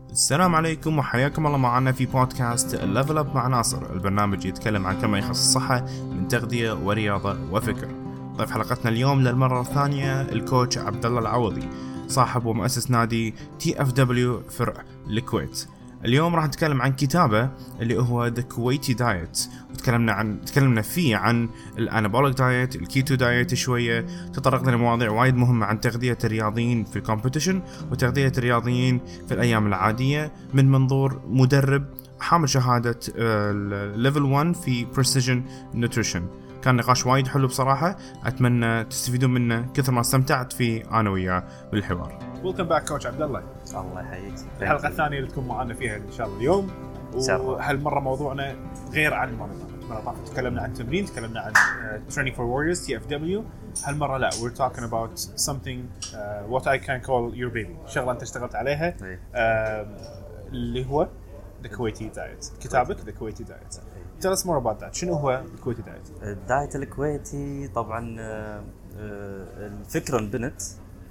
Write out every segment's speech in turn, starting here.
السلام عليكم وحياكم الله معنا في بودكاست ليفل اب مع ناصر. البرنامج يتكلم عن كل ما يخص الصحة من تغذية ورياضة وفكر. ضيف حلقتنا اليوم للمرة الثانية الكوتش عبد الله العوضي، صاحب ومؤسس نادي TFW فرع الكويت. اليوم راح نتكلم عن كتابه اللي هو The Kuwaiti Diet، تكلمنا فيه عن الانابوليك دايت، الكيتو دايت شوية، تطرقنا لمواضيع وايد مهمة عن تغذية الرياضيين في الكومبيتيشن وتغذية الرياضيين في الأيام العادية من منظور مدرب حامل شهادة ليفل 1 في Precision Nutrition. كان نقاش وايد حلو بصراحة، أتمنى تستفيدون منه كثر ما استمتعت فيه أنا وياه بالحوار. Welcome back coach عبد الله. الله يحييك. الحلقة الثانية اللي تكون معنا فيها إن شاء الله اليوم، وهالمرة موضوعنا غير عن المرة طافت. تكلمنا عن تمرين، تكلمنا عن Training for Warriors TFW. هالمرة لا، we're talking about something what I can call your baby، شغلة أنت اشتغلت عليها اللي هو The Kuwaiti Diet. كتابك The Kuwaiti Diet. Tell us more about that. شنو هو The Kuwaiti Diet؟ الدايت الكويتي طبعا الفكرة انبنت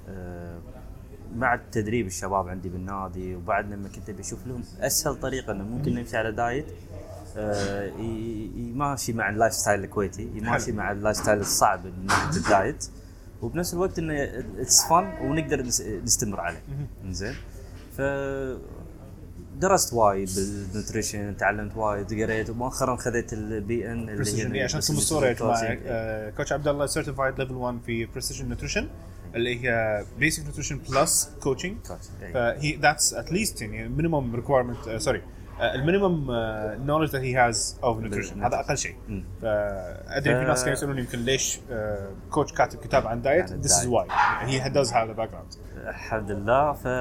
مع التدريب الشباب عندي بالنادي، وبعد لما كنت بشوف لهم اسهل طريقه انه ممكن نمشي على دايت يماشي مع اللايف ستايل الكويتي، يماشي مع اللايف ستايل الصعب من ناحيه الدايت، وبنفس الوقت انه اتس فن ونقدر نستمر عليه. زين، ف درست وايد بالنيوتريشن، تعلمت وايد، قريت، ومؤخرا خذيت البي ان اللي هي عشان تكون الصوره يا جماعه. كوتش عبد الله سيرتيفايد ليفل 1 في بريسيجن نيوتريشن اللي هي بيسك نيوتريشن بلس كوتشنج. فهي ذاتس ات ليست يعني مينيمم ريكويرمنت، المينيمم نوليدج ذات هي هاز اوف نيوتريشن، هذا اقل شيء. فادري في ناس كانوا يسالوني يمكن ليش كوتش كاتب كتاب عن دايت. ذس از واي هي داز هاف ذا باك جراوند. الحمد لله. ف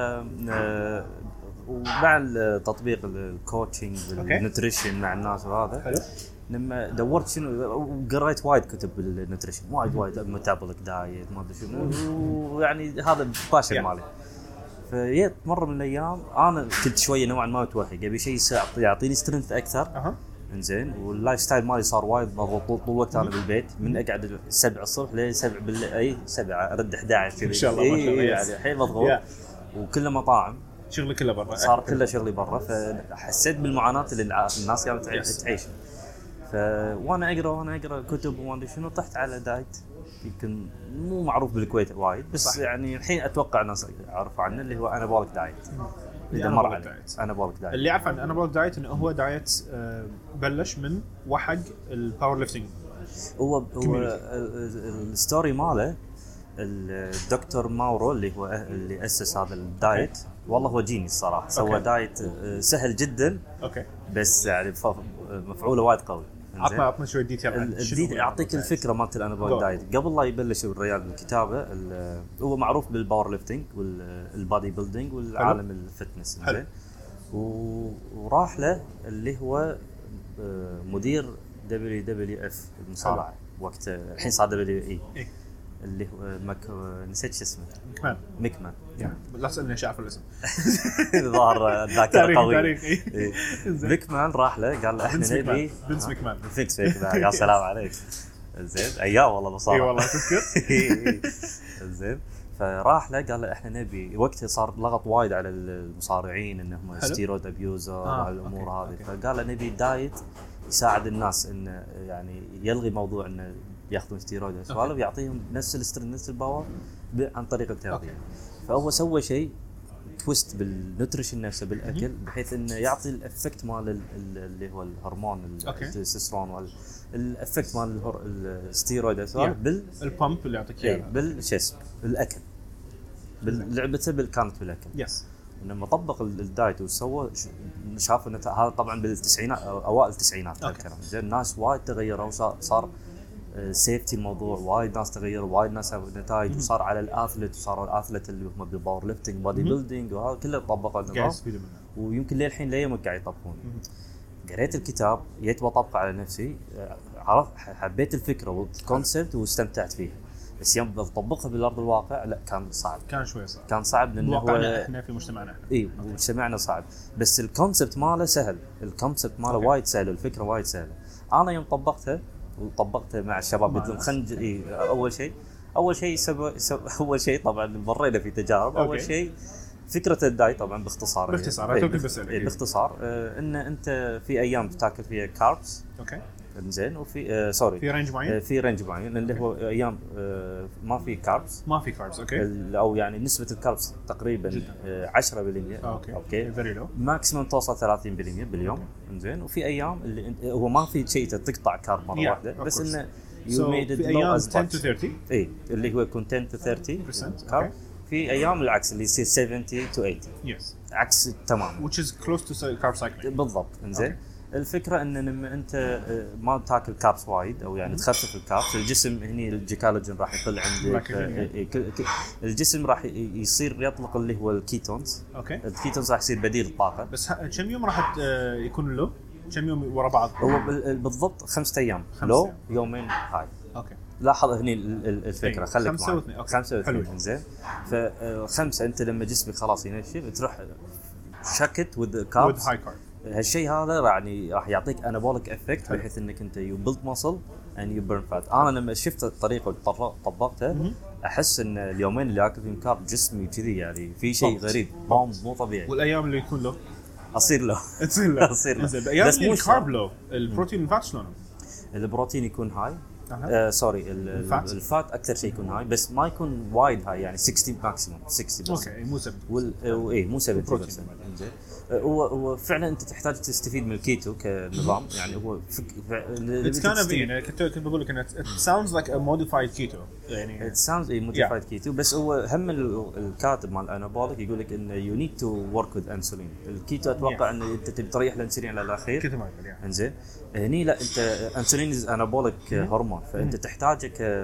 ومع تطبيق الكوتشنج والنيوتريشن مع الناس وهذا حلو. لما دورت شنو وقريت وايد كتب بالنيوتريشن، وايد ميتابوليك دايت ما ادري شنو، ويعني هذا باشن مالي. فجيت مره من الايام انا كنت شويه نوعا ما متوهق، ابي شيء يعطيني سترينث اكثر. انزين، واللايف ستايل مالي صار وايد مضغوط طول الوقت. انا بالبيت من اقعد 7 الصبح ل 7 بالليل، 7 ارد 11 كذا ان شاء الله. ما شاء الله يعني الحين مضغوط وكله مطاعم، شغلي كله برا، صار كله شغلي برا. فحسيت بالمعاناه اللي الناس كانت تعيش. وانا اقرا كتب وما ادري شنو، طحت على دايت يمكن مو معروف بالكويت وايد، بس صح. يعني الحين اتوقع الناس يعرفوا عنه، اللي هو انابوليك دايت. انابوليك دايت اللي يعرف عن انابوليك دايت انه هو دايت بلش من وحق الباور ليفتنج. هو الستوري ماله الدكتور ماورو اللي اسس هذا الدايت. والله هو جيني الصراحه. سوى دايت سهل جدا، بس يعني مفعوله وايد قوي. عطنا شويه ديتيل. اعطيك الفكره مالت الانابوليك دايت قبل لا يبلش الريال الكتابه. هو معروف بالباور ليفتنج والبادي بيلدينج والعالم الفتنس. زين، وراح له اللي هو مدير WWF المصارعه وقت، الحين صار WWE، اللي هو نسيت شو اسمه، ميكمان. لا تسألني ايش اعرف الاسم. ظهر ذاكرة قوية. ميكمان راح له قال له احنا نبي بنس ميكمان. يا سلام عليك. زين، ايام والله بصراحة. اي والله تذكر. زين، فراح له قال له احنا نبي، وقتها صار لغط وايد على المصارعين انهم ستيرويد ابيوزر والامور هذه. فقال له نبي دايت يساعد الناس انه يعني يلغي موضوع انه ياخذون ستيرويد وسوالف، ويعطيهم نفس السترين نفس الباور عن طريق التغذيه. فهو سوى شيء تويست بالنوتريشن نفسه بالاكل، بحيث انه يعطي الافكت مال اللي هو الهرمون التستوستيرون والافكت مال الستيرويد وسوالف بالبامب اللي يعطيك اياه بالجسم بالاكل، باللعبه كانت بالاكل. يس. لما طبق الدايت وسوى شاف انه هذا طبعا بالتسعينات اوائل التسعينات الكلام. زين، الناس وايد تغيروا وصار سيفتي الموضوع، وايد ناس تغيروا، وايد ناس سووا نتائج، وصار على الاثليت، وصاروا الاثليت اللي هم بالباور ليفتنج بادي بيلدينج وهذا كله طبقوا النظام، ويمكن للحين ليومك قاعد يطبقون. قريت الكتاب، جيت بطبقه على نفسي، عرفت حبيت الفكره والكونسبت واستمتعت فيها، بس يوم بطبقها بالارض الواقع لا، كان صعب، كان صعب لانه هو احنا في مجتمعنا مجتمعنا صعب. بس الكونسبت ماله سهل، الكونسبت ماله وايد سهل، الفكره وايد سهله. انا يوم طبقتها مع الشباب قلت لهم اول شيء طبعا مرينا في تجارب. اول شيء فكره الدايت طبعا باختصار باختصار ان انت في ايام تاكل فيها كاربس اوكي زين وفي سوري في رينج معين في رينج معين اللي هو ايام ما في كاربس اوكي او يعني نسبه الكاربس تقريبا 10% اوكي فيري لو ماكسيمم توصل 30% باليوم زين وفي ايام اللي هو ما في شيء تقطع كارب مره واحده بس انه you made it low as 10 to 30 اي اللي هو يكون 10 to 30% كارب في ايام العكس اللي يصير 70 to 80 يس عكس تمام which is close to carb cycling بالضبط انزين الفكره ان لما انت ما تاكل كابس وايد او يعني تخفف الكابس الجسم هني الجيكالوجين راح يقل عندك الجسم راح يصير يطلق اللي هو الكيتونز اوكي الكيتونز راح يصير بديل الطاقه بس كم يوم راح يكون له كم يوم ورا بعض هو بالضبط 5 ايام لو يومين هاي اوكي لاحظ هني الفكره خليك 5 و2 زين ف5 انت لما جسمك خلاص ينشف تروح شكت وذ كاربس هاي كارب هالشيء هذا يعني راح يعطيك انابوليك افكت بحيث انك انت يو بيلد ماسل اند يو بيرن فات. انا لما شفت الطريقه وطبقتها احس ان اليومين اللي اكل فيهم كارب جسمي كذي يعني في شيء غريب مو طبيعي. والايام اللي يكون له اصير له بس مو الكارب له البروتين والفات شلونه؟ البروتين يكون هاي سوري الفات اكثر شيء يكون هاي بس ما يكون وايد هاي يعني 60 ماكسيموم 60 بس اوكي مو 70 مو 70 زين هو فعلا انت تحتاج تستفيد من الكيتو كنظام يعني هو اتس كان بين كنت بقول لك انه sounds like a modified keto يعني it sounds modified keto بس هو هم الكاتب مال الانابوليك يقول لك انه you need to work with insulin الكيتو اتوقع ان انت تبي تريح الانسولين على الاخير كذا ما انزين هني لا انت انسولين از انابوليك هرمون فانت تحتاجه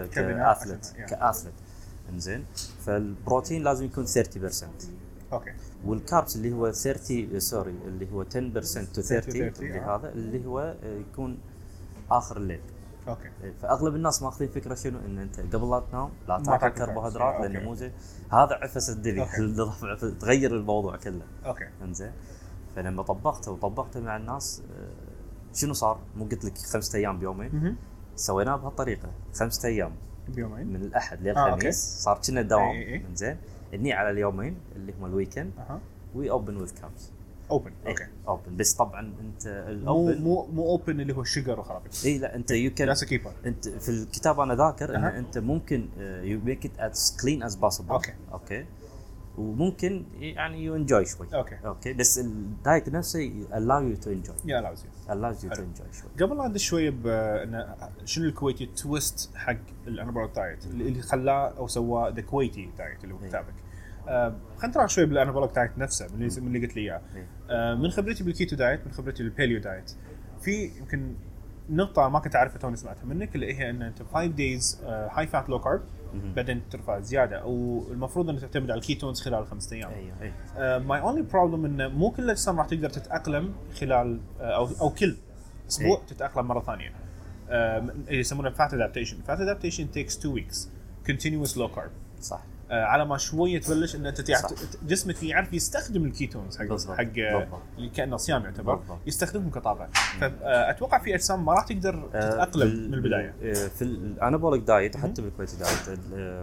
كاثليت انزين فالبروتين لازم يكون 30% اوكي والكاربس اللي هو 30 سوري اللي هو 10% to 30 اللي هذا اللي هو يكون اخر الليل اوكي فاغلب الناس ماخذين فكره شنو ان انت قبل لا تنام لا تاكل كربوهيدرات لانه مو زين هذا عفس الدنيا تغير الموضوع كله اوكي انزين فلما طبقته مع الناس شنو صار مو قلت لك 5 ايام بيومين سويناه بهالطريقه 5 ايام بيومين من الاحد للخميس صار كنا دوام انزين اني على اليومين اللي هم الويكند وي اوبن وذ كابس اوبن اوكي اوبن بس طبعا انت الاوبن مو اوبن اللي هو الشجر وخلاص اي لا انت يو كان انت في الكتاب انا ذاكر ان انت ممكن يو ميك ات از كلين از بوسيبل اوكي وممكن يعني يو انجوي شوي اوكي بس الدايت نفسه allow you to enjoy allows you to enjoy شوي. قبل لا ندش شويه بان شنو الكويتي تويست حق الانابوليك دايت اللي خلاه او سواه ذا كويتي دايت اللي هو كتابك خلينا نروح شوي بالانابوليك دايت نفسه من اللي قلت لي اياه من خبرتي بالكيتو دايت من خبرتي بالباليو دايت في يمكن نقطه ما كنت اعرفها توني سمعتها منك اللي هي ان انت 5 days هاي فات لو كارب بعدين ترفع زياده او المفروض ان تعتمد على الكيتونز خلال 5 ايام. ماي اونلي بروبلم انه مو كل الاجسام راح تقدر تتاقلم خلال او كل اسبوع تتاقلم مره ثانيه. اللي يسمونه فات ادابتيشن takes 2 weeks continuous low carb صح. على ما شويه تبلش ان انت جسمك يعرف يستخدم الكيتونز حق اللي كانه صيام يعتبر يستخدمهم كطاقه. فاتوقع في اجسام ما راح تقدر تتاقلم من البدايه. في الانابوليك دايت حتى بالكويتي دايت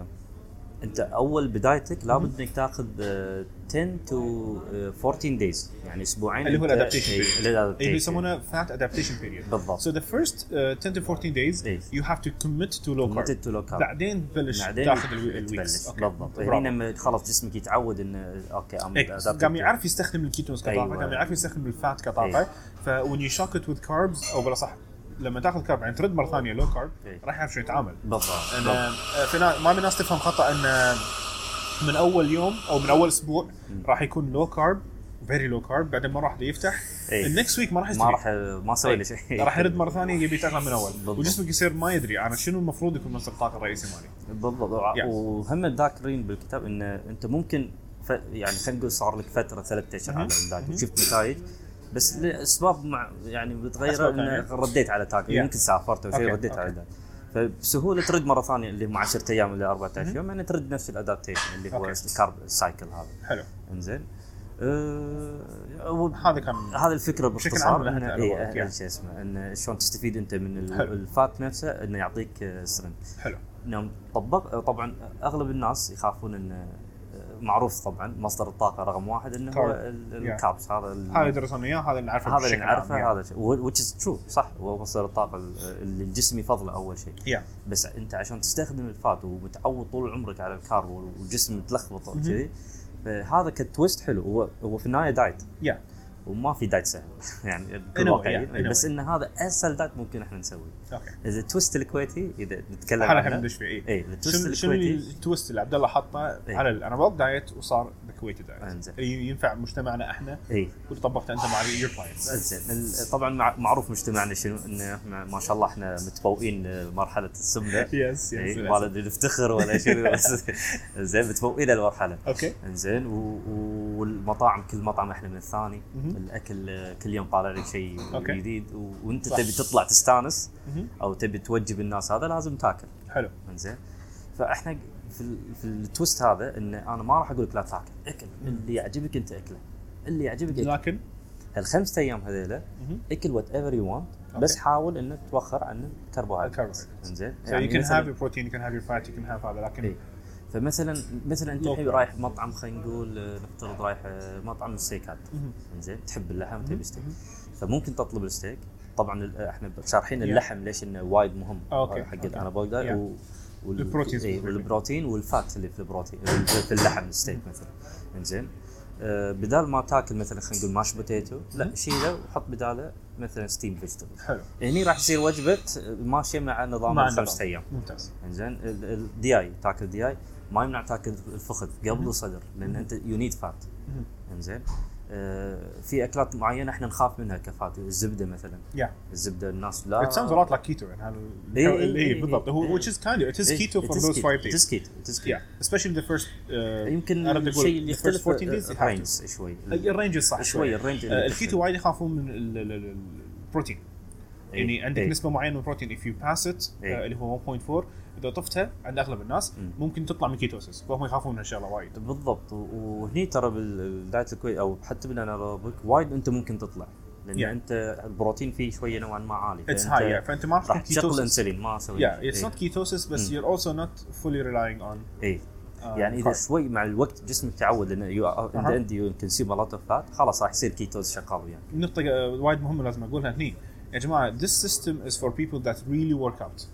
انت اول بدايتك لابد انك تاخذ 10 to 14 days يعني اسبوعين اللي هو الادابتيشن اللي يسمونه فات ادابتيشن بيريود بالضبط. so the first 10 to 14 days you have to commit to low carb بعدين تبلش تاخذ الويكس بالضبط. هنا لما خلاص جسمك يتعود انه اوكي قام يعرف يستخدم الكيتونز كطاقه قام يعرف يستخدم الفات كطاقه when you shock it with carbs او بلا صح لما تاخذ كارب يعني ترد مره ثانيه لو كارب راح يعرف شو يتعامل بالضبط. ما من الناس تفهم خطا ان من اول يوم او من اول اسبوع راح يكون لو كارب فيري لو كارب بعدين مره واحده يفتح النكست ويك ما راح ما سوي له شيء راح يرد مره ثانيه يبي يتاقلم من اول وجسمك يصير ما يدري انا شنو المفروض يكون مصدر الطاقه الرئيسي مالي بالضبط. وهم ذاكرين بالكتاب ان انت ممكن يعني خلينا نقول صار لك فتره 3 اشهر على الدايت وشفت نتائج بس لاسباب يعني بتغير ان رديت على تاكل يمكن سافرت او شيء رديت على الدايت فبسهوله ترد مره ثانيه اللي هم 10 ايام الى 14 يوم يعني ترد نفس الادابتيشن اللي هو الكارب سايكل هذا. حلو انزين هذا الفكره باختصار انه شيء اسمه ان شلون تستفيد انت من الفات نفسه انه يعطيك سترينث. حلو نعم طبعا اغلب الناس يخافون ان معروف طبعا مصدر الطاقه رقم واحد انه هو الكاربس. هذا درسنا اياه، هذا اللي نعرفه، هذا اللي نعرفه، هذا which is true صح، هو مصدر الطاقه اللي الجسم يفضله اول شيء. بس انت عشان تستخدم الفات ومتعود طول عمرك على الكارب والجسم متلخبط وكذي، هذا كتويست حلو. هو في النهايه دايت وما في دايت سهل يعني بكل واقعية، بس ان هذا اسهل دايت ممكن احنا نسويه. اذا التويست الكويتي اذا نتكلم عنه احنا ندش فيه. شنو التويست اللي عبد الله حطه على الانابول دايت وصار الكويتي دايت ينفع مجتمعنا احنا واللي طبقته انت مع يور كلاينتس؟ زين طبعا معروف مجتمعنا شنو، انه احنا ما شاء الله احنا متفوقين مرحله السمنه. يس ما نفتخر ولا شيء زين متفوقين المرحله. زين والمطاعم كل مطعم احنا من الثاني، الاكل كل يوم طالع لك شيء جديد، وانت تبي تطلع تستانس او تبي توجب الناس، هذا لازم تاكل حلو. زين فاحنا في التويست هذا ان انا ما راح اقول لك لا تاكل، اكل اللي يعجبك انت اكله، اللي يعجبك لكن هالخمسة ايام هذيلا اكل وات ايفر يو وانت، بس حاول انك توخر عن الكربوهيدرات. زين يعني you can have your protein, you can have your fat, you can have هذا، لكن فمثلا انت الحين رايح مطعم، خلينا نقول نفترض رايح مطعم ستيكات، زين تحب اللحم تبي ستيك، فممكن تطلب الستيك. طبعا احنا شارحين اللحم ليش انه وايد مهم حق الانابول دايت، والبروتين والفات اللي في البروتين في اللحم الستيك مثلا. زين بدال ما تاكل مثلا خلينا نقول ماش بوتيتو، لا شيله وحط بداله مثلا ستيم فيجيتابل. حلو، هني راح يصير وجبه ماشيه مع نظام الخمسة ايام. ممتاز. زين الدياي تاكل دياي، ما يمنع تاكل الفخذ قبل الصدر، لان انت يو نيد فات. زين في اكلات معينه احنا نخاف منها كفات، الزبده مثلا. الزبده الناس لا it sounds a lot like keto يعني هذا اللي بالضبط هو which is kind of it is keto for those 5 days. it is keto especially the first يمكن الشيء اللي يختلف الرينج شوي، الرينج صح شوي. الرينج الكيتو وايد يخافون من البروتين، يعني عندك نسبه معينه من البروتين if you pass it اللي هو 1.4 اذا طفتها عند اغلب الناس ممكن تطلع من كيتوسيس، فهم يخافون من هالشغله وايد. بالضبط. وهني ترى بالدايت الكويس او حتى بالانابوليك وايد انت ممكن تطلع، لان انت البروتين فيه شويه نوعا ما عالي، فانت ما راح تشغل انسولين ما اسوي it's not ketosis بس you're also not fully relying on يعني اذا شوي مع الوقت جسمك تعود انه انت يو كونسيوم ا لوت اوف فات، خلاص راح يصير كيتوز شغال يعني. نقطه وايد مهمه لازم اقولها هني يا جماعه، this system is for people that really work out.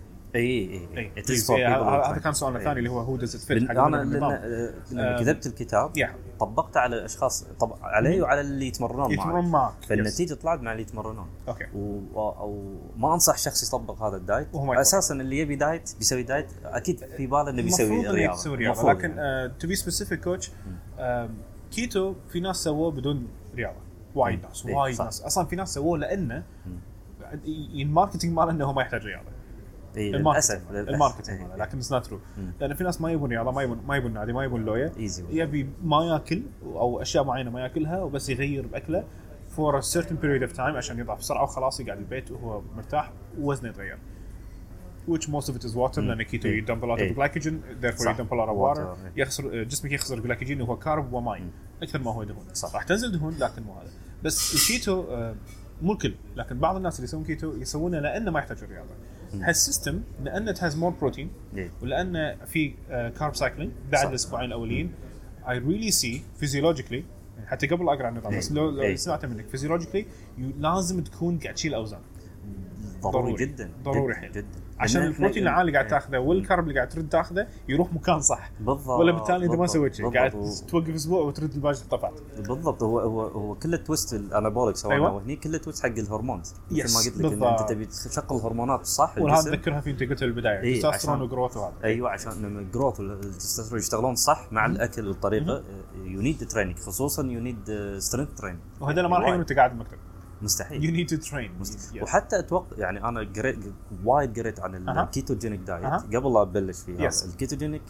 هذا كان سؤالنا الثاني اللي هو does it fit. انا لما كتبت الكتاب طبقته على الاشخاص علي وعلى اللي يتمرنون معك، فالنتيجه طلعت مع اللي يتمرنون. او ما انصح شخص يطبق هذا الدايت اساسا. اللي يبي دايت بيسوي دايت اكيد في باله انه بيسوي رياضه، لكن تو بي سبيسيفيك كوتش كيتو في ناس سووه بدون رياضه، وايد ناس اصلا في ناس سووه لانه الماركتينج ماله انه ما يحتاج رياضه. الماركتينج لكن it's not true، لأن في ناس ما يبون رياضة، ما يبون نادي، ما يبون لوية، يبي ما يأكل أو أشياء معينة ما يأكلها وبس يغير بأكله for a certain period of time عشان يضعف بسرعة وخلاص يقعد البيت وهو مرتاح ووزنه يتغير. Which most of it is water، لأن keto you dump a lot of glycogen therefore you dump a lot of water. يخسر جسمك يخسر glycogen وهو كارب وماء أكثر ما هو دهون. راح تنزل دهون لكن مو هذا. بس الكيتو مو الكل، لكن بعض الناس اللي يسوون كيتو يسوونه لأنه ما يحتاج رياضة. هالسيستم لأنه has more protein ولأنه في carb cycling بعد الأسبوعين الأولين I really see physiologically، حتى قبل أقرأ عن النظام بس لو سمعت منك physiologically لازم تكون قاعد تشيل أوزان. ضروري جدا عشان البروتين العالي اللي قاعد تاخذه والكرب اللي قاعد ترد تاخذه يروح مكان صح. بالضبط. ولا بالتالي انت ما سويت شيء، قاعد توقف اسبوع وترد الباقي طفعت. بالضبط. هو كل التويست الانابوليك سواء وهني كل التويست حق الهرمونز مثل ما قلت لك ان انت تبي تشغل الهرمونات صح. وهذا ذكرها في انت قلت بالبدايه تستوستيرون وجروث وهذا. ايوه عشان لما الجروث والتستوستيرون يشتغلون صح مع الاكل والطريقه يو نيد تريننج، خصوصا يو نيد سترينث تريننج، وهذا ما راح يكون انت قاعد بالمكتب مستحيل. you need to train. وحتى اتوقع يعني انا قريت عن الكيتوجينيك دايت قبل لا ابلش فيها. الكيتوجينيك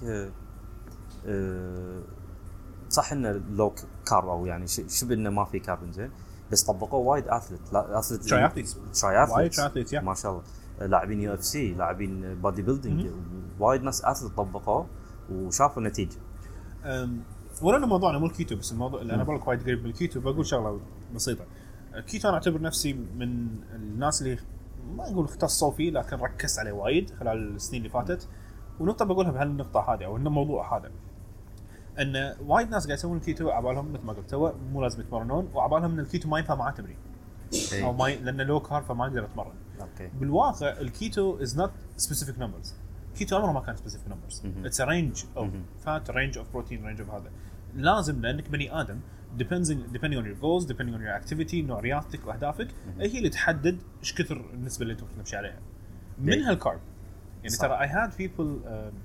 صح انه لو كارب او يعني شبه انه ما في كارب زين، بس طبقوه وايد اثليت تراياثليت ما شاء الله، لاعبين يو اف سي، لاعبين بادي بيلدينج، وايد ناس اثليت طبقوه وشافوا النتيجه. ورنا موضوعنا مو الكيتو بس الموضوع اللي انا بقول لك وايد قريب بالكيتو. بقول شغله بسيطه، كيتو انا اعتبر نفسي من الناس اللي ما اقول اختصوا فيه لكن ركزت عليه وايد خلال السنين اللي فاتت. ونقطه بقولها بهالنقطه هذه او الموضوع هذا، ان وايد ناس قاعد يسوون الكيتو عبالهم مثل ما قلت تو مو لازم يتمرنون، وعبالهم ان الكيتو ما ينفع معاه تمرين او ما لانه لو كارب فما يقدر يتمرن. اوكي بالواقع الكيتو از نوت سبيسيفيك نمبرز. كيتو عمره ما كان سبيسيفيك نمبرز، اتس ا رينج اوف فات، رينج اوف بروتين، رينج اوف هذا. لازم لانك بني ادم depending on your goals, depending on your activity، نوع رياضتك واهدافك هي اللي تحدد ايش كثر النسبه اللي انت تمشي عليها منها الكارب. يعني صح. ترى I had people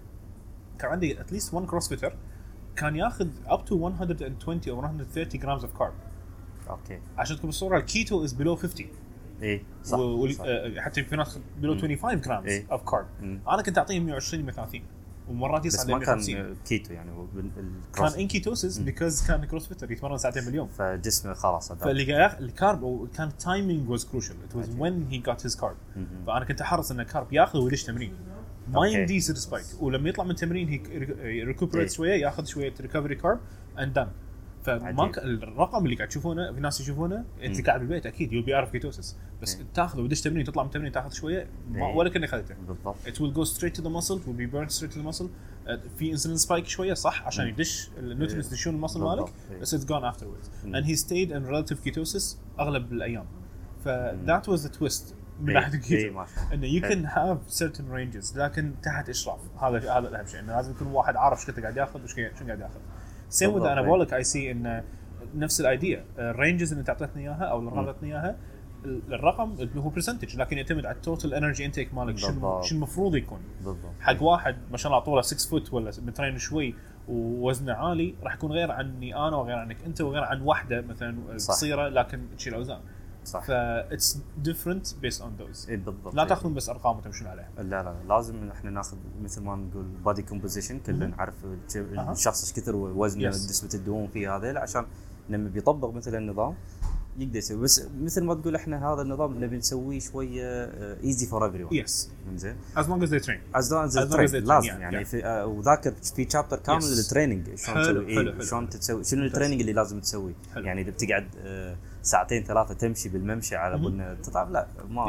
كان عندي at least one crossfitter كان ياخذ up to 120 or 130 grams of carb. اوكي عشان تكون الصوره الكيتو is below 50. اي صح, صح. حتى في ناس below 25 grams إيه. of carb. انا كنت اعطيهم 120 130 ومرات بس يصعد ما ل 150. كان كيتو يعني كان ان كيتوسيس because كان كروسفيتر يتمرن ساعتين باليوم، فجسمه خلاص هذا. فاللي الكارب وكان تايمينج واز كروشال. ات واز وين هي جات هيز كارب. فانا كنت احرص ان الكارب ياخذ ويدش تمرين ما يمدي يصير سبايك، ولما يطلع من تمرين هي ريكوبريت شويه، ياخذ شويه ريكفري كارب اند دان. فما الرقم اللي قاعد تشوفونه في ناس يشوفونه انت قاعد بالبيت اكيد يو بي عارف كيتوسيس، بس تاخذ ودش تمرين تطلع من تمرين تاخذ شويه ولا كأنك اخذته بالضبط. it will go straight to the muscle, will be burned straight to the muscle. في انسولين سبايك شويه صح عشان يدش النيوترينز يدشون المصل مالك، بس it's gone afterwards and he stayed in relative ketosis اغلب الايام. ف that was the twist من ناحيه الكيتو، انه you can have certain ranges لكن تحت اشراف. هذا اهم شيء، انه لازم يكون واحد عارف ايش قاعد ياخذ وش قاعد ياخذ. same with anabolic I see انه نفس الايديا. الرينجز اللي انت اعطيتني اياها او اللي اعطيتني اياها الرقم اللي هو برسنتج، لكن يعتمد على التوتال انرجي انتيك مالك شنو المفروض يكون. بالضبط. حق واحد ما شاء الله طوله 6 فوت ولا مترين شوي ووزنه عالي راح يكون غير عني انا وغير عنك انت وغير عن واحده مثلا قصيره لكن تشيل اوزان. صح. ف it's different based on those. إيه بالضبط. لا تاخذون بس ارقام وتمشون عليها. لا لازم احنا ناخذ مثل ما نقول بادي كومبوزيشن، كلنا نعرف الشخص ايش كثر وزنه، نسبه الدهون فيه هذا، عشان لما بيطبق مثلا النظام يقدر يسوي. بس مثل ما تقول احنا هذا النظام نبي نسويه شويه ايزي فور ايفري ون. يس زين as long as they train لازم يعني وذاكر في شابتر كامل للتريننج شلون تسوي شنو التريننج اللي لازم تسويه. يعني اذا بتقعد ساعتين ثلاثه تمشي بالممشى على بنا تطلع، لا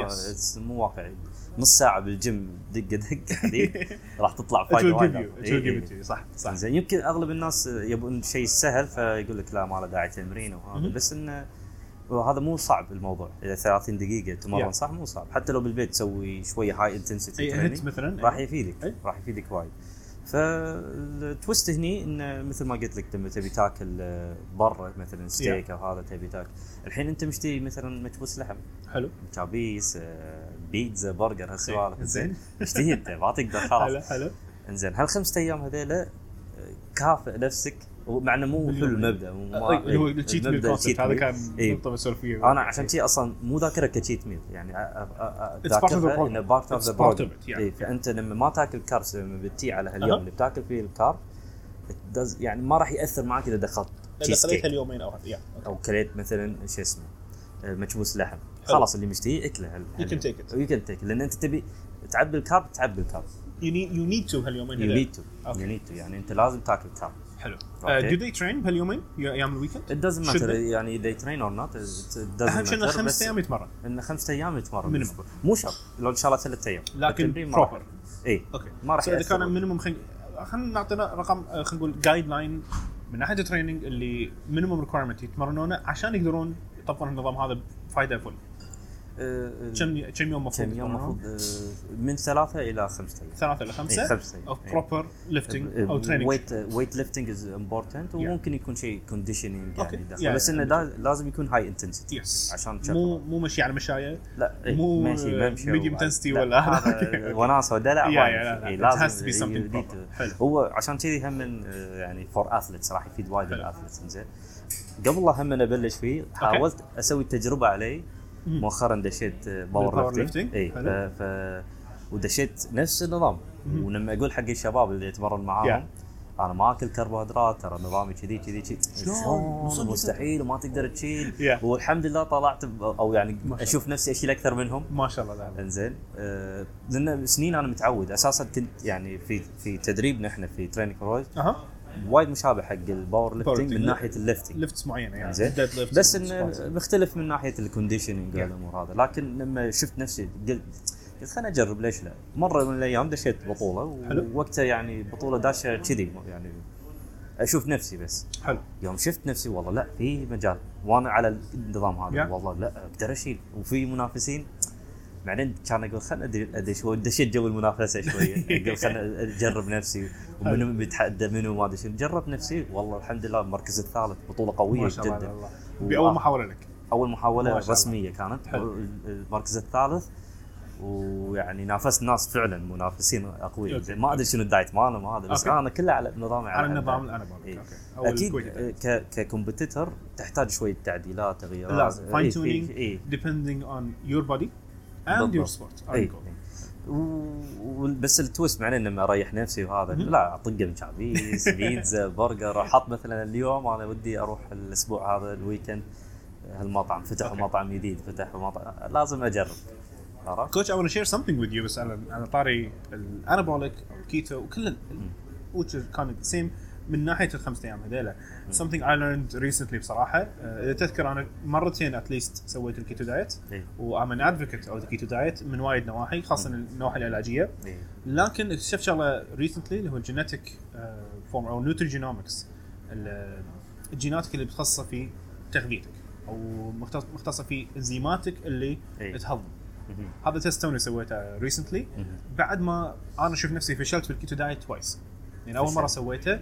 مو واقعي. نص ساعه بالجيم دقه حديد راح تطلع فايده وايد. صح زين يمكن اغلب الناس يبون شيء سهل فيقول لك لا ما له داعي تمرين وهذا، بس انه وهذا مو صعب الموضوع. اذا 30 دقيقه تمرن صح مو صعب، حتى لو بالبيت تسوي شويه هاي انتنسيتي تريننج مثلا راح يفيدك وايد. فالتويست هني انه مثل ما قلت لك لما تبي تاكل برا مثلا ستيك او هذا تبي تاكل الحين انت مشتري مثلا مكبوس لحم حلو، كابيس، بيتزا، برجر، هالسوالف زين اشتهي انت ما تقدر خلاص. حلو انزين هالخمسة ايام هذيلا كافئ نفسك، ومع انه مو حلو المبدا هو التشيت ميل كونسبت هذا كان نقطه مسولف فيه. انا عشان شيء اصلا مو ذاكره كتشيت ميل، يعني ذاكرها انه بارت اوف ذا بروجرام. فانت لما ما تاكل كاربس لما بتي على هاليوم اللي بتاكل فيه الكارب يعني ما راح ياثر معك اذا دخلت اليومين او كليت مثلا شو اسمه مكبوس لحم. خلاص اللي مشتهي اكله you can take it لان انت تبي تعبي الكارب you need to هاليومين يعني انت لازم تاكل كارب. حلو. do they train بهاليومين ايام الويكند؟ it doesn't matter يعني they train or not اهم شيء انه 5 ايام يتمرن، انه 5 ايام يتمرن مو شرط لو ان شاء الله 3 ايام لكن بروبر. اوكي ما راح اذا كان مينيمم خلينا نعطينا رقم خلينا نقول جايد لاين من ناحيه التريننج اللي مينيمم ريكويرمنت يتمرنونه عشان يقدرون يطبقون النظام هذا فايده فل. كم يوم مفروض من 3 إلى 5 أيام. 3 إلى 5 of proper lifting أو training. weight lifting is important وممكن يكون شيء conditioning يعني داخل، بس إنه لازم يكون high intensity عشان مو مشي على مشاية، لا مو ماشي medium intensity ولا هذا وناسة ودلع. لازم هو عشان كذي هم من يعني for athletes راح يفيد وايد الأثليتس. إنزين قبل لا هم نبلش فيه حاولت أسوي تجربة عليه مؤخرا دشيت باور ليفتنج ودشيت نفس النظام. ولما اقول حق الشباب اللي يتمرن معاهم انا ما اكل كربوهيدرات ترى نظامي كذي شلون مستحيل وما تقدر تشيل والحمد لله طلعت او يعني اشوف نفسي اشيل اكثر منهم ما شاء الله. انزين لان سنين انا متعود اساسا كنت يعني في تدريبنا احنا في تريننج فور وايد مشابه حق الباور ليفتنج من ناحيه الليفتنج ليفتس معينه يعني بس انه مختلف من ناحيه الكونديشننج والامور هذا. لكن لما شفت نفسي قلت خليني اجرب ليش لا. مره من الايام دشيت بطوله ووقتها يعني بطوله داشه كذي يعني اشوف نفسي بس. حلو. يوم شفت نفسي والله لا في مجال وانا على النظام هذا Yeah. والله لا اقدر اشيل وفي منافسين. بعدين كان اقول خلنا ادري شوي دشيت جو المنافسه شويه. اقول خلنا اجرب نفسي ومنو بيتحدى منو ما ادري شنو. جربت نفسي والله الحمد لله المركز الثالث بطوله قويه جدا. باول محاوله لك. اول محاوله رسميه كانت. حلو. المركز الثالث ويعني نافست ناس فعلا منافسين اقوياء. ما ادري شنو الدايت ماله ما ادري بس انا كله على نظامي على النظام اللي انا بقول. اكيد ككومبيتيتور تحتاج شويه تعديلات تغييرات. لازم فاين تيونينج depending on your body and your sport. بس التويست معناه اني اريح نفسي وهذا لا اطق مشابيس بيتزا برجر. احط مثلا اليوم انا ودي اروح الاسبوع هذا الويكند هالمطعم فتح مطعم جديد فتح مطعم لازم اجرب. كوتش I want to share something with you بس على طاري الانابوليك او الكيتو وكل which كان same من ناحيه الخمس ايام هذيلا. something I learned recently بصراحه. اذا تذكر انا مرتين at least سويت الكيتو دايت و I'm an advocate of the keto diet من وايد نواحي خاصه النواحي العلاجيه. لكن اكتشفت شغله recently اللي هو الجينيتيك فورم او نيوتريجينومكس. الجيناتك اللي بتخصص في تغذيتك او مختصه في انزيماتك اللي تهضم. هذا تيست توني سويته recently بعد ما انا شفت نفسي فشلت في الكيتو دايت توايس. يعني اول مره سويته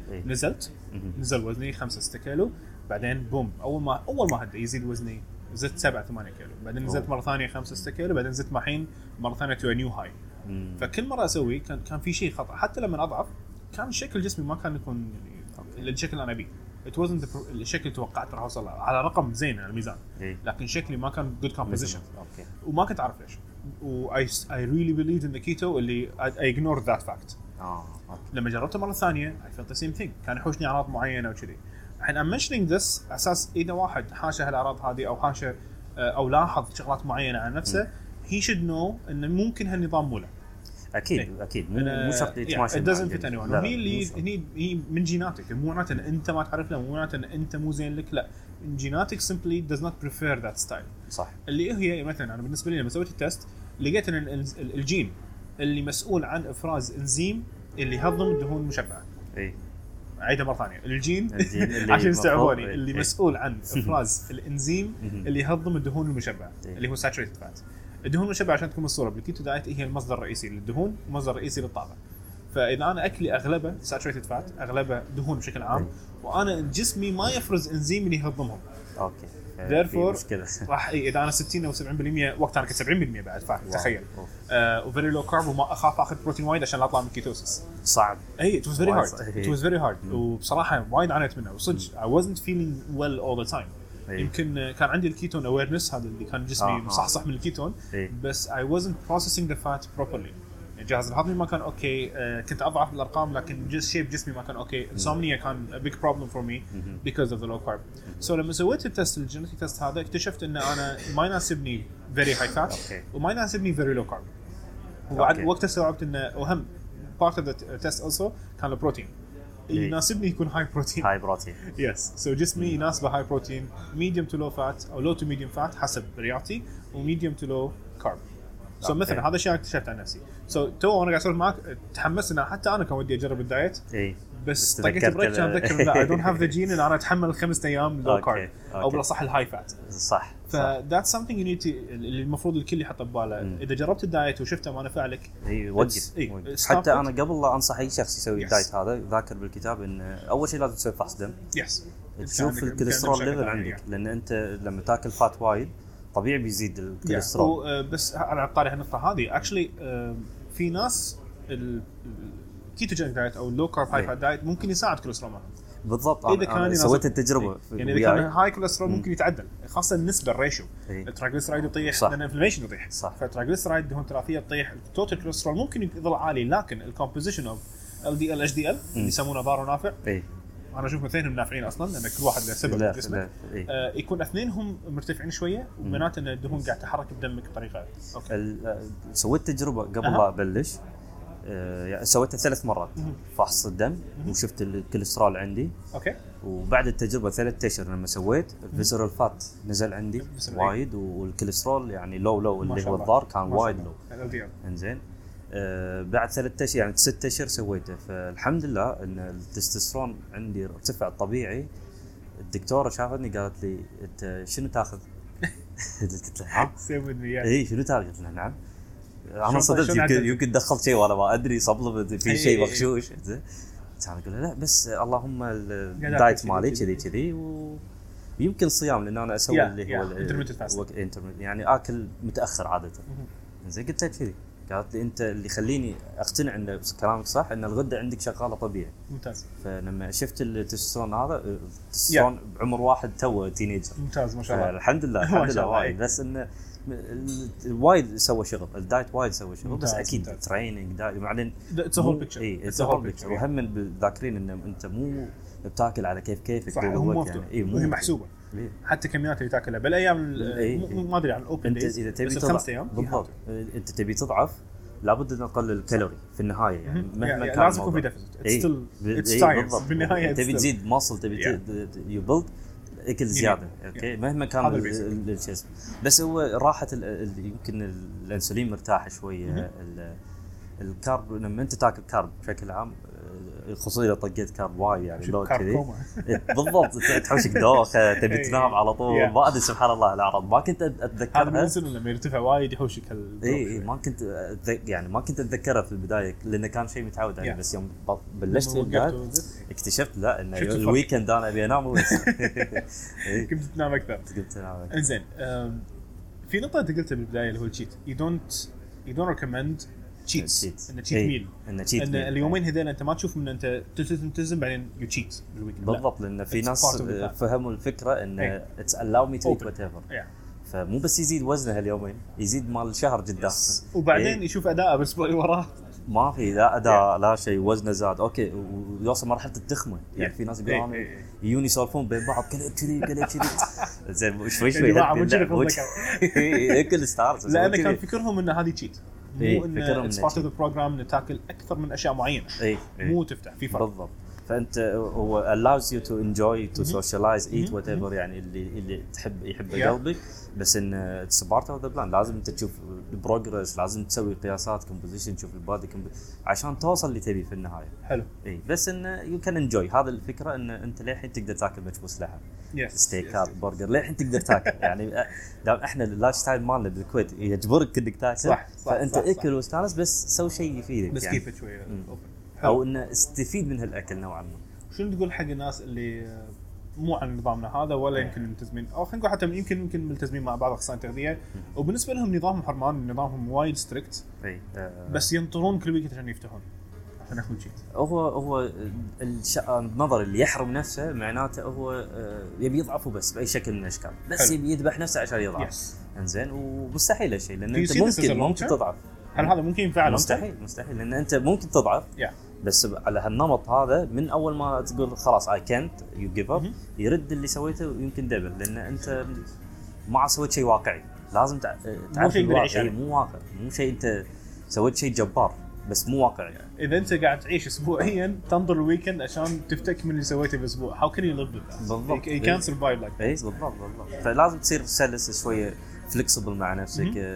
نزل وزني 5-6 كيلو. بعدين بوم اول ما هدى يزيد وزني زدت 7-8 كيلو. بعدين نزلت مره ثانيه 5-6 كيلو. بعدين زدت محين مره ثانيه تو نيو هاي. فكل مره اسوي كان في شيء خطا. حتى لما اضعف كان شكل جسمي ما كان يكون الشكل اللي انا ابيه. it wasn't الشكل اللي توقعت راح اوصل على رقم زين على الميزان. لكن شكلي ما كان good composition. وما كنت اعرف ليش. I really believed in the keto اللي I ignored that fact. لما جربته مرة ثانية I felt the same thing. كان يحوشني أعراض معينة وكذي. الحين I'm mentioning this أساس إذا واحد حاشة هالأعراض هذه أو حاشة أو لاحظ شغلات معينة عن نفسه he should know إنه ممكن هالنظام مو له. أكيد مو شرط يتماشى. it doesn't fit anyone. هي من جيناتك. مو معناته إن أنت ما تعرف له. مو معناته إن أنت مو زين لك. لا جيناتك simply does not prefer that style. صح. اللي هي مثلا أنا بالنسبة لي لما سويت التست لقيت إن الجين اللي مسؤول عن إفراز إنزيم اللي يهضم الدهون المشبعة. عيدها مرة ثانية. الجين عشان يستوعبوني اللي مسؤول عن إفراز الإنزيم اللي يهضم الدهون المشبعة اللي هو saturated fat. الدهون المشبعة عشان تكون الصورة بالكيتو دايت هي المصدر الرئيسي للدهون ومصدر الرئيسي للطاقة. فإذا أنا أكلي أغلبه saturated fat أغلبه دهون بشكل عام وأنا جسمي ما يفرز إنزيم اللي يهضمهم. therefore راح اذا انا 60 او 70% وقتها انا كنت 70% بعد فاهم تخيل. وفيري لو كارب وما اخاف اخذ بروتين وايد عشان اطلع من الكيتوسيس. صعب. it was very hard وبصراحه وايد عانيت منه وصدق I wasn't feeling well all the time. يمكن كان عندي الكيتون awareness هذا اللي كان جسمي مصحصح من الكيتون بس I wasn't processing the fat properly. الجهاز الهضمي ما كان اوكي. كنت اضعف بالارقام لكن شيب جسمي ما كان اوكي. insomnia كان a big problem for me because of the low carb. so لما سويت التست الجينيتيك تست هذا اكتشفت ان انا ما يناسبني very high fat وما يناسبني very low carb. وبعد وقتها استوعبت ان اهم part of the test also كان البروتين. يناسبني يكون high protein. yes so جسمي يناسبه high protein medium to low fat او low to medium fat حسب رياضتي و medium to low carb. مثلا هذا الشيء اكتشفت عن نفسي. تو وانا قاعد اسولف معك تحمست ان حتى انا كان ودي اجرب الدايت. بس طقيت بريك كان اذكر لا I don't have the gene ان انا اتحمل 5 ايام low carb او بالاصح الهاي فات. صح. that's something you need to اللي المفروض الكل يحط بباله. اذا جربت الدايت وشفته ما نفعلك وقف. حتى انا قبل لا انصح اي شخص يسوي الدايت هذا ذاكر بالكتاب ان اول شيء لازم تسوي فحص دم. تشوف الكوليسترول ليفل عندك لان انت لما تاكل فات وايد طبيعي بيزيد الكوليسترول. بس على طاري هالنقطه هذه اكشلي في ناس الكيتوجين دايت او اللو كارب هاي فات دايت ممكن يساعد كوليسترول معهم. بالضبط. انا سويت التجربه يعني اذا كان هاي كوليسترول ممكن يتعدل خاصه النسبه الريشيو. الترايغليسرايد يطيح لان الانفلاميشن يطيح. فالترايغليسرايد دهون ثلاثيه تطيح. التوتال كوليسترول ممكن يظل عالي لكن الكومبوزيشن اوف LDL HDL اللي يسمونه ضار ونافع. انا اشوف اثنينهم نافعين اصلا لان كل واحد له سبب جسمه. يكون اثنينهم مرتفعين شويه ومعناته ان الدهون قاعد تحرك بدمك بطريقه سويت تجربه قبل لا ابلش. يعني سويتها 3 مرات فحص الدم وشفت الكوليسترول عندي. وبعد التجربه 3 اشهر لما سويت الفيسرال فات نزل عندي وايد والكوليسترول يعني لو اللي هو الضار كان وايد لو. انزين بعد 3 اشهر يعني 6 اشهر سويته. فالحمد لله ان التستوستيرون عندي ارتفع طبيعي. الدكتوره شافتني قالت لي انت شنو تاخذ؟ قلت لها اي شنو تاخذ؟ قلت لها نعم. انا صدقت يمكن دخلت شيء وانا ما ادري، سبلمنت في شيء مغشوش. زين كان اقول لا بس اللهم الدايت مالي كذي ويمكن صيام، لان انا اسوي اللي هو الانترميت يعني اكل متاخر عاده. زين قلت لها كذي، قالت لي انت اللي يخليني اقتنع ان كلامك صح ان الغده عندك شغاله طبيعي. ممتاز. فلما شفت التستوستيرون هذا التستوستيرون بعمر واحد تو تينيجر. ممتاز ما شاء الله. الحمد لله وايد. بس انه وايد سوى شغل الدايت، وايد سوى شغل. بس اكيد تريننج دايت بعدين اتس هول بيكتشر. اي اتس هول بيكتشر. وهم بالذاكرين ان انت مو بتاكل على كيفك. صح، مو هي محسوبه. حتى كميات اللي تاكلها بالايام ما ادري عن الاوبن دايز. انت اذا تبي تضعف بالضبط، انت تبي تضعف لابد ان نقلل الكالوري في النهايه. يعني مهما كان لازم يكون في ديفيسيت. اتس ساينس بالنهايه. تبي تزيد ماسل، تبي يو بيلد اكل زياده. اوكي مهما كان الشيء. بس هو راحه يمكن الانسولين مرتاح شويه. الكارب لما انت تاكل كارب بشكل عام، خصوصا اذا طقيت كارب وايد يعني لو كذي بالضبط تحوشك دوخه، تبي تنام على طول. ما ادري سبحان الله الاعراض ما كنت اتذكرها. هذا الانسولين لما يرتفع وايد يحوشك اي ما كنت يعني ما كنت اتذكرها في البدايه لانه كان شيء متعود عليه. بس يوم بلشت اكتشفت لا ان الويكند انا ابي انام بس. كنت تنام اكثر. انزين في نقطه انت قلتها بالبدايه اللي هو التشيت. يو دونت ريكومند تشيت ان تشيت ميل. ان اليومين هذول انت ما تشوف من انت تلتزم بعدين يو تشيت بالويكند. بالضبط، لان في ناس فهموا الفكره ان اتس الاو مي تو وات ايفر. فمو بس يزيد وزنه اليومين، يزيد مال الشهر قدام. وبعدين يشوف اداءه بالاسبوع اللي وراه ما في لا اداء لا شيء، وزنه زاد اوكي ويوصل مرحله التخمه. يعني في ناس يقولون يجون يسولفون بين بعض كذي زين شوي اكل ستارز. لان كان فكرهم ان هذه تشيت، مو ان اتس بارت اوف ذا بروجرام ان تاكل اكثر من اشياء معينه. مو تفتح في فرق بالضبط. فانت هو allows you to enjoy to socialize eat whatever يعني اللي يحب قلبك. بس ان it's part of the plan. لازم انت تشوف البروجرس، لازم تسوي قياسات كومبوزيشن، تشوف البادي عشان توصل اللي تبي في النهايه. حلو. اي بس ان you can enjoy. هذا الفكره ان انت للحين تقدر تاكل مجبوس لحم، ستيكات، برجر، للحين تقدر تاكل. يعني دام احنا اللايف ستايل مالنا بالكويت يجبرك انك تاكل. صح فانت اكل واستانس بس سوي شيء يفيدك. بس يعني كيف شويه او انه استفيد من هالاكل نوعا ما. شنو تقول حق الناس اللي مو على نظامنا هذا ولا يمكن ملتزمين، او خلينا نقول حتى يمكن ملتزمين مع بعض اخصائيين التغذيه وبالنسبه لهم نظامهم حرمان، نظامهم وايد ستريكت، بس ينطرون كل ويك عشان يفتحون عشان ياخذون شيء. هو النظر اللي يحرم نفسه معناته هو يبي يضعف بس باي شكل من الاشكال، بس يبي يذبح نفسه عشان يضعف. انزين ومستحيل هالشيء لان انت ممكن تضعف. هل هذا ممكن ينفع؟ مستحيل لان انت ممكن تضعف بس على هالنمط هذا. من اول ما تقول خلاص I can't you give up يرد اللي سويته يمكن دبل، لان انت ما سويت شيء واقعي. لازم تعرف الواقع مو واقع، مو شيء انت سويت شيء جبار بس مو واقعي. اذا انت قاعد تعيش اسبوعيا تنظر الويكند عشان تفتك من اللي سويته بالاسبوع، how can you live with that؟ بالضبط. you can't survive like that. بالضبط. فلازم تصير سلس شويه flexible مع نفسك،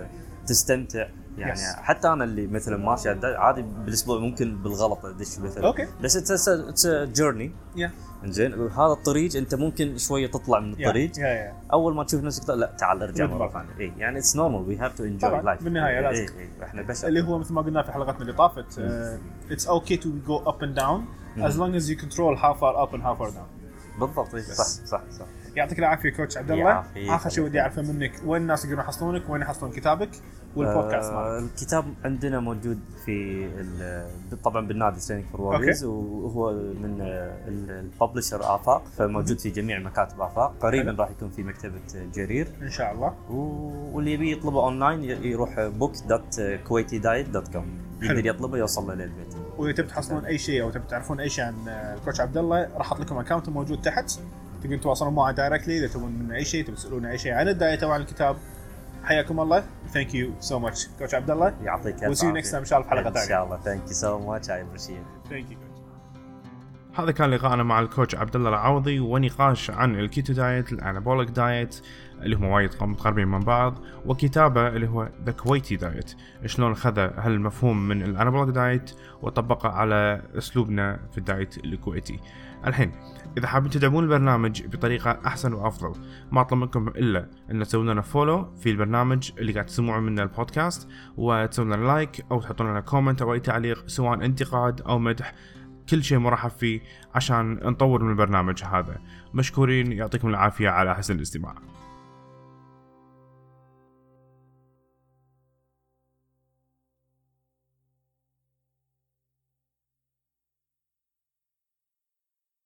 تستمتع. يعني حتى انا اللي مثلا ماشي عادي بالاسبوع ممكن بالغلط ادش مثلا بس اتس جيرني. انزين هذا الطريق انت ممكن شويه تطلع من الطريق. اول ما تشوف نفسك لا تعال ارجع مره ثانيه. يعني اتس نورمال وي هاف تو انجوي لايف بالنهايه. لازم احنا بشر اللي هو مثل ما قلنا في حلقتنا اللي طافت اتس اوكي تو جو اب اند داون as long as you control how far up and how far down. بالضبط. صح. يعطيك العافيه كوتش عبد الله. اخر شيء ودي اعرفه منك وين الناس يقدرون يحصلونك، وين يحصلون كتابك والبودكاست مالك؟ الكتاب عندنا موجود في طبعا بالنادي تريننج فور ووريرز، وهو من الببلشر آفاق، فموجود في جميع مكاتب آفاق. قريبا راح يكون في مكتبه جرير ان شاء الله. واللي يبي يطلبه اونلاين يروح book.kuwaitidiet.com يقدر يطلبه يوصل له للبيت. واذا تبي تحصلون اي شيء او تبي تعرفون اي شيء عن الكوتش عبد الله راح احط لكم اكونت موجود تحت، تقدرون تواصلون معه دايركتلي اذا تبون من اي شيء، تبي تسالون اي شيء عن الدايت او عن الكتاب. حياكم الله. ثانك يو سو ماتش كوتش عبد الله. يعطيك العافيه. وسي يو نكست تايم ان شاء الله في حلقه ثانيه ان شاء الله. ثانك يو سو ماتش. اي ابريشيت. ثانك يو. هذا كان لقاءنا مع الكوتش عبد الله العوضي ونقاش عن الكيتو دايت، الانابوليك دايت اللي هم وايد متقاربين من بعض، وكتابه اللي هو ذا كويتي دايت، شلون خذ هالمفهوم من الانابوليك دايت وطبقه على اسلوبنا في الدايت الكويتي. الحين اذا حابين تدعمون البرنامج بطريقه احسن وافضل، ما اطلب منكم الا ان تسوون لنا فولو في البرنامج اللي قاعد تسمعون منه البودكاست، وتسوون لنا لايك او تحطون لنا كومنت او اي تعليق سواء انتقاد او مدح، كل شيء مرحب فيه عشان نطور من البرنامج هذا. مشكورين، يعطيكم العافيه على حسن الاستماع.